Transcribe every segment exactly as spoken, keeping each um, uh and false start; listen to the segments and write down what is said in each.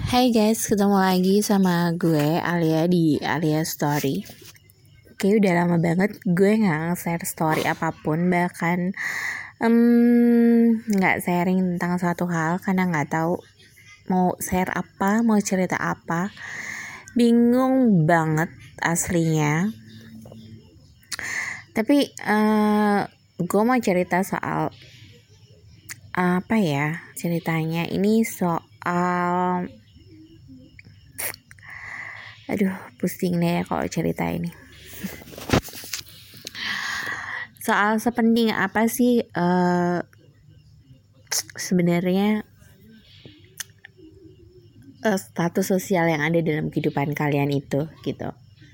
Hai guys, ketemu lagi sama gue Alia di Alia Story. Kayak udah lama banget gue gak nge-share story apapun, bahkan um, gak sharing tentang suatu hal karena gak tahu mau share apa, mau cerita apa. Bingung banget aslinya. Tapi uh, gue mau cerita soal apa ya ceritanya. Ini soal Aduh, pusing deh kalau cerita ini. Soal sepenting apa sih uh, sebenarnya uh, status sosial yang ada dalam kehidupan kalian itu, gitu.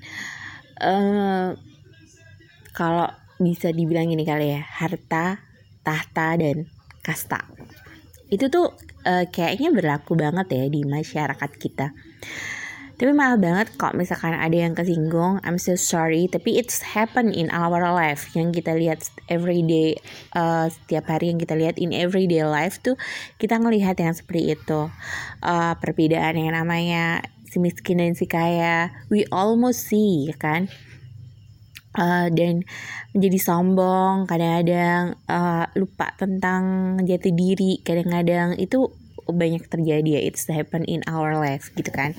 Uh, kalau bisa dibilang ini kali ya, harta, tahta, dan kasta. Itu tuh uh, kayaknya berlaku banget ya di masyarakat kita. Tapi malah banget kalau misalkan ada yang kesinggung, I'm so sorry, tapi it's happen in our life. Yang kita lihat everyday, uh, setiap hari yang kita lihat in everyday life tuh, kita ngelihat yang seperti itu. Uh, perbedaan yang namanya si miskin dan si kaya, we almost see, kan? Uh, dan menjadi sombong, kadang-kadang uh, lupa tentang jati diri, kadang-kadang itu banyak terjadi ya, it's happen in our life, gitu kan?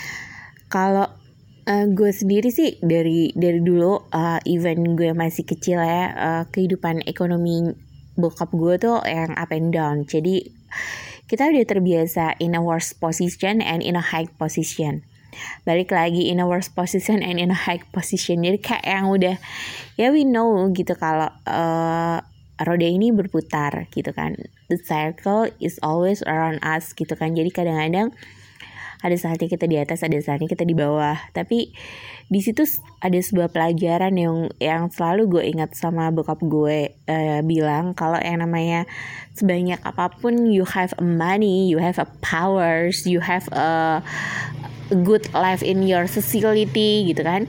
Kalau uh, gue sendiri sih dari dari dulu uh, even gue masih kecil ya, uh, kehidupan ekonomi bokap gue tuh yang up and down. Jadi kita udah terbiasa in a worst position and in a high position. Balik lagi in a worst position and in a high position. Jadi kayak yang udah ya we know gitu kalau uh, roda ini berputar gitu kan. The circle is always around us gitu kan. Jadi kadang-kadang ada saatnya kita di atas, ada saatnya kita di bawah. Tapi di situ ada sebuah pelajaran yang yang selalu gue ingat sama bokap gue uh, bilang kalau yang namanya sebanyak apapun you have a money, you have a powers, you have a good life in your society gitu kan.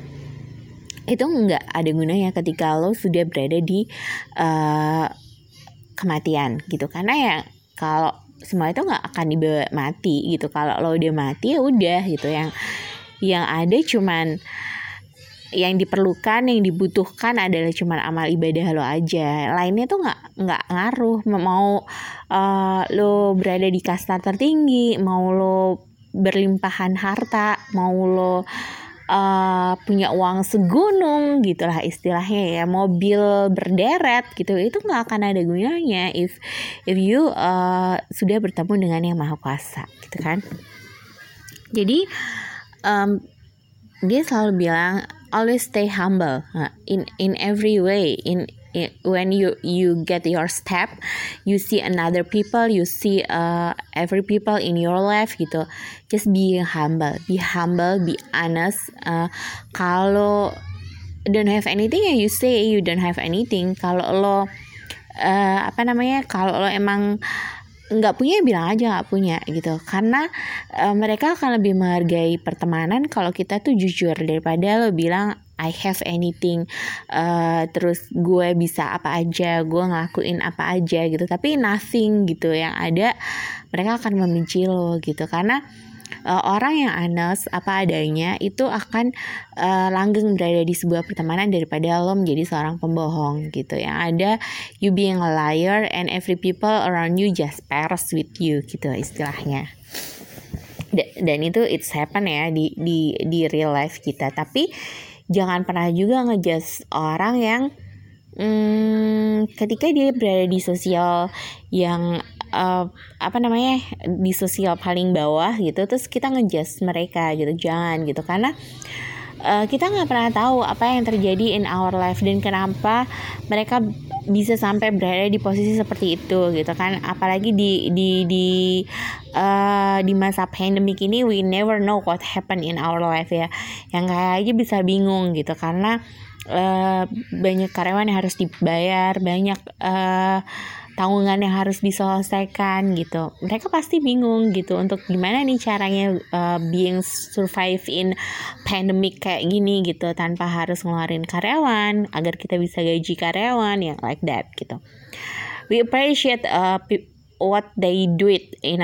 Itu nggak ada gunanya ketika lo sudah berada di uh, kematian gitu. Karena ya kalau semua itu nggak akan dibawa mati gitu. Kalau lo udah mati ya udah gitu. Yang yang ada cuman yang diperlukan, yang dibutuhkan adalah cuman amal ibadah lo aja. Lainnya tuh nggak nggak ngaruh. Mau uh, lo berada di kasta tertinggi, mau lo berlimpahan harta, mau lo Uh, punya uang segunung gitulah istilahnya ya, mobil berderet gitu, itu nggak akan ada gunanya if if you uh, sudah bertemu dengan yang maha kuasa gitu kan. Jadi um, dia selalu bilang always stay humble uh, in in every way. In It, when you you get your step, you see another people, you see uh, every people in your life gitu. Just be humble, be humble, be honest. Uh, kalau don't have anything ya you say you don't have anything. Kalau lo uh, apa namanya, kalau lo emang nggak punya bilang aja nggak punya gitu, karena uh, mereka akan lebih menghargai pertemanan kalau kita tuh jujur daripada lo bilang I have anything, uh, terus gue bisa apa aja, gue ngelakuin apa aja gitu, tapi nothing gitu. Yang ada mereka akan membenci lo gitu, karena uh, orang yang honest apa adanya itu akan uh, langgeng berada di sebuah pertemanan daripada lo menjadi seorang pembohong gitu. Yang ada you being a liar and every people around you just pairs with you gitu istilahnya. Dan itu it's happen ya di di di real life kita. Tapi jangan pernah juga ngejudge orang yang hmm, ketika dia berada di sosial yang uh, apa namanya di sosial paling bawah gitu, terus kita ngejudge mereka gitu. Jangan gitu, karena uh, kita nggak pernah tahu apa yang terjadi in our life dan kenapa mereka bisa sampai berada di posisi seperti itu gitu kan. Apalagi di di di uh, di masa pandemik ini, we never know what happen in our life ya. Yang kayak aja bisa bingung gitu, karena uh, banyak karyawan yang harus dibayar, banyak uh, tanggungan yang harus diselesaikan gitu. Mereka pasti bingung gitu untuk gimana nih caranya uh, being survive in pandemic kayak gini gitu, tanpa harus ngeluarin karyawan agar kita bisa gaji karyawan yang like that gitu. We appreciate uh, what they do it in a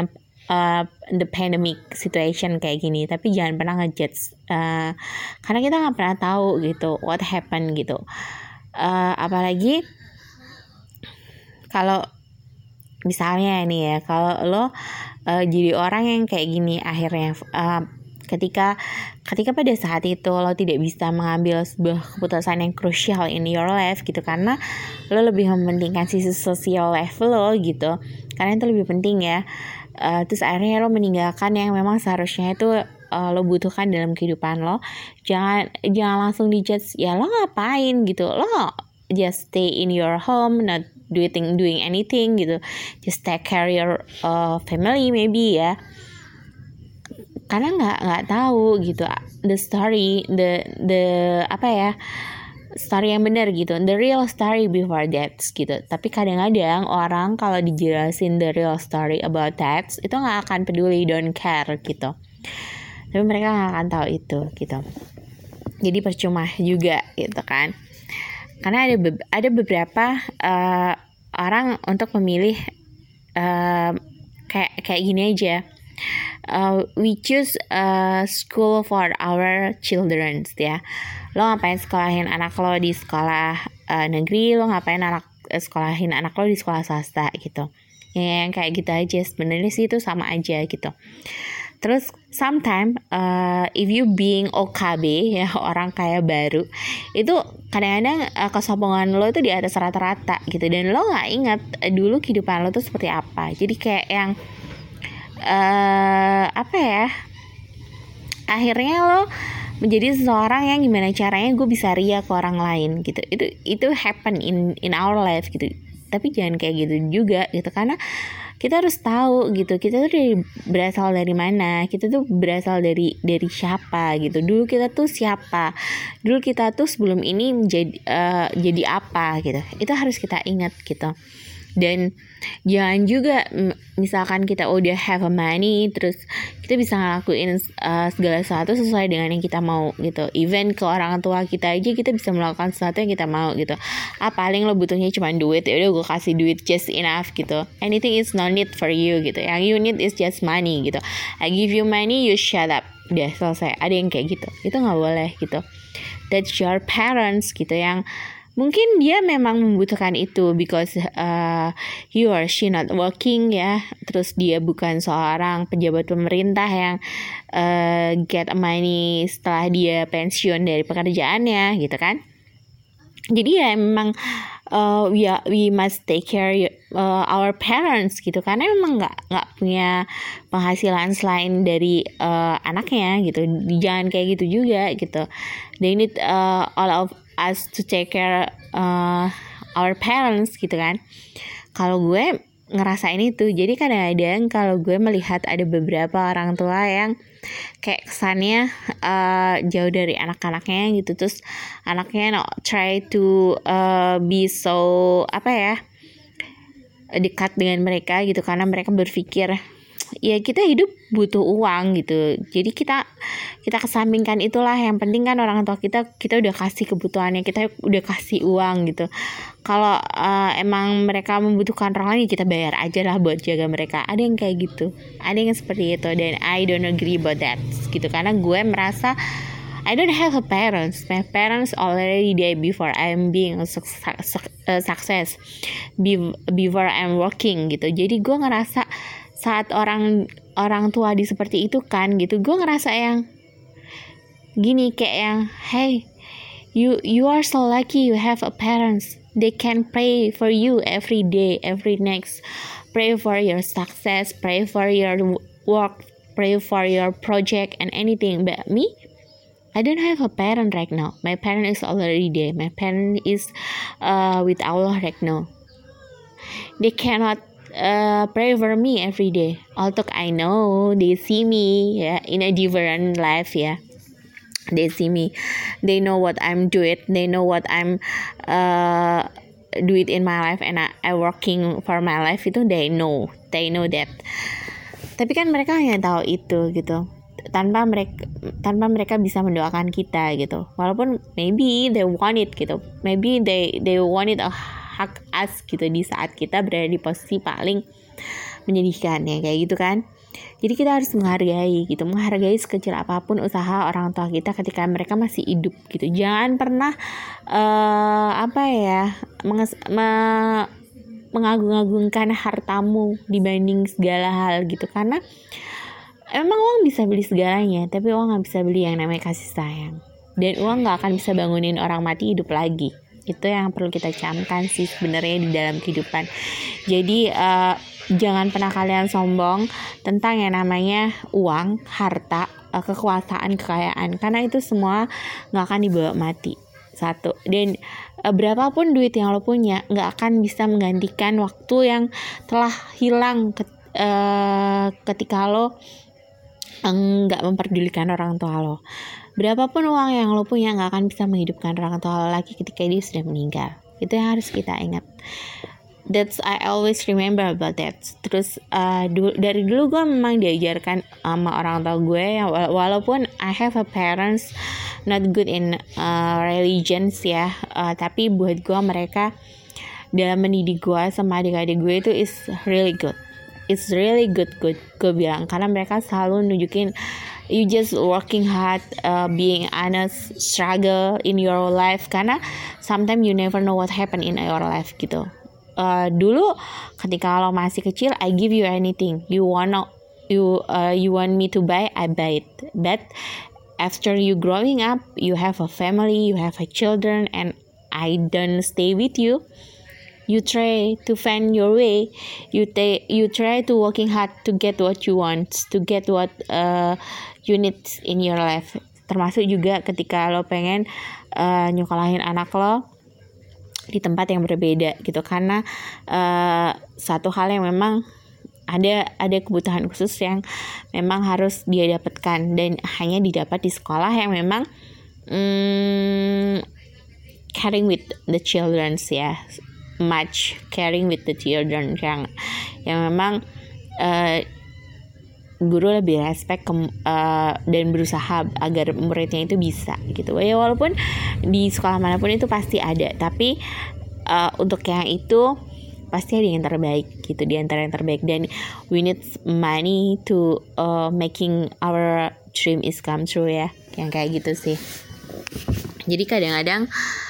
uh, the pandemic situation kayak gini, tapi jangan pernah ngejudge uh, karena kita nggak pernah tahu gitu what happen gitu. Uh, apalagi kalau misalnya nih ya, kalau lo uh, jadi orang yang kayak gini akhirnya uh, ketika ketika pada saat itu lo tidak bisa mengambil sebuah keputusan yang crucial in your life gitu, karena lo lebih mementingkan sisi sosial life lo gitu, karena itu lebih penting ya. Uh, terus akhirnya lo meninggalkan yang memang seharusnya itu uh, lo butuhkan dalam kehidupan lo. Jangan jangan langsung dijudge, ya lo ngapain gitu, lo just stay in your home, not doing doing anything gitu, just take care your uh, family maybe ya, karena nggak nggak tahu gitu the story, the the apa ya, story yang benar gitu, the real story before that gitu. Tapi kadang-kadang orang kalau dijelasin the real story about that itu nggak akan peduli, don't care gitu, tapi mereka nggak akan tahu itu gitu. Jadi percuma juga gitu kan, karena ada be- ada beberapa uh, orang untuk memilih uh, kayak kayak gini aja. Uh, we choose a school for our children ya. Lo ngapain sekolahin anak lo di sekolah uh, negeri, lo ngapain anak uh, sekolahin anak lo di sekolah swasta gitu. Ya, yang kayak gitu aja sebenarnya sih itu sama aja gitu. Terus sometimes uh, if you being O K B ya, orang kaya baru, itu kadang-kadang uh, kesombongan lo itu di atas rata-rata gitu, dan lo nggak ingat uh, dulu kehidupan lo tuh seperti apa. Jadi kayak yang Uh, apa ya, akhirnya lo menjadi seseorang yang gimana caranya gue bisa ria ke orang lain gitu. Itu itu happen in in our life gitu. Tapi jangan kayak gitu juga gitu, karena kita harus tahu gitu, kita tuh dari, berasal dari mana, kita tuh berasal dari dari siapa gitu. Dulu kita tuh siapa, dulu kita tuh sebelum ini menjadi uh, jadi apa gitu. Itu harus kita ingat gitu. Dan jangan juga misalkan kita udah have a money terus kita bisa ngelakuin uh, segala sesuatu sesuai dengan yang kita mau gitu. Even ke orang tua kita aja kita bisa melakukan sesuatu yang kita mau gitu. Ah, paling lo butuhnya cuma duit, ya udah gue kasih duit just enough gitu. Anything is no need for you gitu. Yang you need is just money gitu. I give you money, you shut up. Udah selesai. Ada yang kayak gitu. Itu nggak boleh gitu. That's your parents gitu, yang mungkin dia memang membutuhkan itu because uh, he or she not working ya. Terus dia bukan seorang pejabat pemerintah yang uh, get money setelah dia pensiun dari pekerjaannya gitu kan. Jadi ya memang uh, we, are, we must take care uh, our parents gitu, karena memang nggak nggak punya penghasilan selain dari uh, anaknya gitu. Jangan kayak gitu juga gitu. They need uh, all of us to take care uh, our parents gitu kan. Kalau gue ngerasain itu, jadi kadang-kadang kalau gue melihat ada beberapa orang tua yang kayak kesannya uh, jauh dari anak-anaknya gitu, terus anaknya no, try to uh, be so apa ya, dekat dengan mereka gitu, karena mereka berpikir ya kita hidup butuh uang gitu. Jadi kita kita kesampingkan itulah, yang penting kan orang tua kita kita udah kasih kebutuhannya, kita udah kasih uang gitu. Kalau uh, emang mereka membutuhkan orang lain, kita bayar aja lah buat jaga mereka. Ada yang kayak gitu, ada yang seperti itu, dan I don't agree about that gitu. Karena gue merasa I don't have a parents. My parents already died before I'm being a success, before I'm working gitu. Jadi gue ngerasa saat orang orang tua di seperti itu kan gitu, gue ngerasa yang gini, kayak yang hey, you you are so lucky you have a parents. They can pray for you every day, every next, pray for your success, pray for your work, pray for your project and anything. But me, I don't have a parent right now. My parent is already dead. My parent is uh, with Allah right now. They cannot uh, pray for me every day. Although I know they see me yeah, in a different life ya. Yeah. They see me, they know what I'm doing, they know what I'm uh, do it in my life, and I, I working for my life, itu they know, they know that. Tapi kan mereka hanya tahu itu gitu, tanpa mereka tanpa mereka bisa mendoakan kita gitu. Walaupun maybe they want it gitu, maybe they they want it a hak us gitu di saat kita berada di posisi paling menyedihkan ya kayak gitu kan. Jadi kita harus menghargai gitu, menghargai sekecil apapun usaha orang tua kita ketika mereka masih hidup gitu. Jangan pernah uh, apa ya menges- me- mengagung-agungkan hartamu dibanding segala hal gitu, karena emang uang bisa beli segalanya, tapi uang nggak bisa beli yang namanya kasih sayang, dan uang nggak akan bisa bangunin orang mati hidup lagi. Itu yang perlu kita camkan sih sebenarnya di dalam kehidupan. Jadi uh, jangan pernah kalian sombong tentang yang namanya uang, harta, uh, kekuasaan, kekayaan, karena itu semua nggak akan dibawa mati. Satu, dan uh, berapapun duit yang lo punya nggak akan bisa menggantikan waktu yang telah hilang ke, uh, ketika lo nggak memperdulikan orang tua lo. Berapapun uang yang lo punya nggak akan bisa menghidupkan orang tua lo lagi ketika dia sudah meninggal. Itu yang harus kita ingat. That's I always remember about that. Terus uh, du- dari dulu gue memang diajarkan sama orang tua gue, wala- walaupun I have a parents not good in uh, religions ya, uh, tapi buat gue mereka dalam mendidik gue sama adik-adik gue itu is really good. It's really good good gue bilang, karena mereka selalu nunjukin you just working hard, uh, being honest, struggle in your life, karena sometimes you never know what happen in your life gitu. Uh, dulu ketika lo masih kecil, I give you anything you wanna you uh, you want me to buy, I buy it. But after you growing up, you have a family, you have a children, and I don't stay with you. You try to find your way. You ta- you try to working hard to get what you want, to get what uh, you need in your life. Termasuk juga ketika lo pengen uh, nyokolahin anak lo di tempat yang berbeda gitu, karena uh, satu hal yang memang ada ada kebutuhan khusus yang memang harus dia dapatkan, dan hanya didapat di sekolah yang memang mm, caring with the childrens ya. Much caring with the children, yang yang memang uh, guru lebih respect ke, uh, dan berusaha agar muridnya itu bisa gitu ya. Walaupun di sekolah manapun itu pasti ada, tapi uh, untuk yang itu pasti ada yang terbaik gitu, di antara yang terbaik. Dan we need money to uh, making our dream is come true ya, yang kayak gitu sih. Jadi kadang-kadang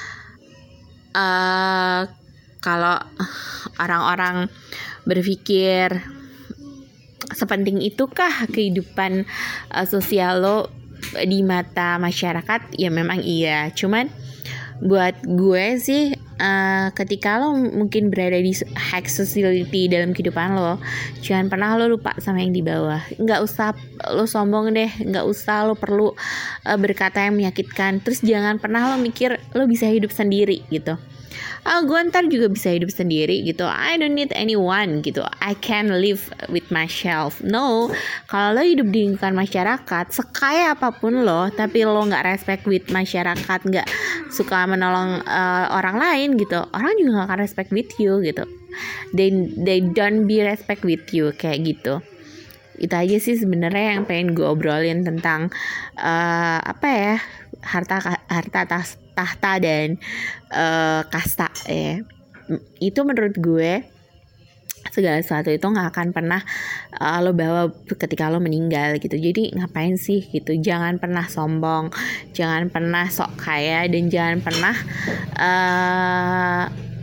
uh, kalau orang-orang berpikir sepenting itukah kehidupan uh, sosial lo di mata masyarakat, ya memang iya. Cuman buat gue sih, uh, ketika lo mungkin berada di high society dalam kehidupan lo, jangan pernah lo lupa sama yang di bawah. Nggak usah lo sombong deh, nggak usah lo perlu uh, berkata yang menyakitkan. Terus jangan pernah lo mikir lo bisa hidup sendiri gitu. Oh, gue ntar juga bisa hidup sendiri gitu. I don't need anyone gitu. I can live with myself. No, kalau lo hidup di lingkungan masyarakat, sekaya apapun lo, tapi lo nggak respect with masyarakat, nggak suka menolong uh, orang lain gitu, orang juga nggak akan respect with you gitu. They they don't be respect with you kayak gitu. Itu aja sih sebenarnya yang pengen gue obrolin tentang uh, apa ya, harta harta tas, tahta dan uh, kasta ya. Itu menurut gue segala sesuatu itu nggak akan pernah uh, lo bawa ketika lo meninggal gitu. Jadi ngapain sih gitu, jangan pernah sombong, jangan pernah sok kaya, dan jangan pernah uh,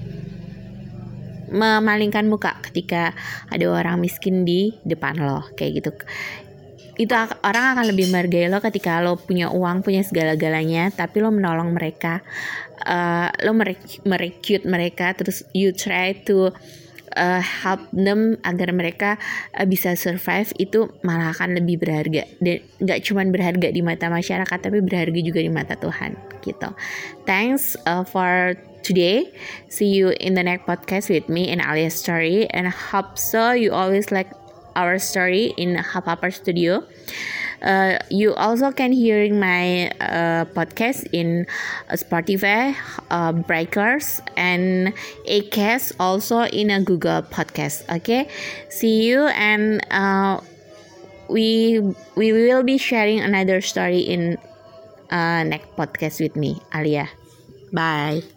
memalingkan muka ketika ada orang miskin di depan lo kayak gitu. Itu orang akan lebih menghargai lo ketika lo punya uang, punya segala-galanya, tapi lo menolong mereka, uh, lo merekrut mereka, terus you try to uh, help them agar mereka uh, bisa survive. Itu malah akan lebih berharga, dan nggak cuma berharga di mata masyarakat, tapi berharga juga di mata Tuhan gitu. Thanks uh, for today. See you in the next podcast with me in Alia's story, and hope so you always like our story in Hapapar Studio. Uh, you also can hearing my uh, podcast in Spotify, uh, Breakers, and Acast, also in a Google Podcast. Okay, see you, and uh, we we will be sharing another story in uh, next podcast with me, Alia. Bye.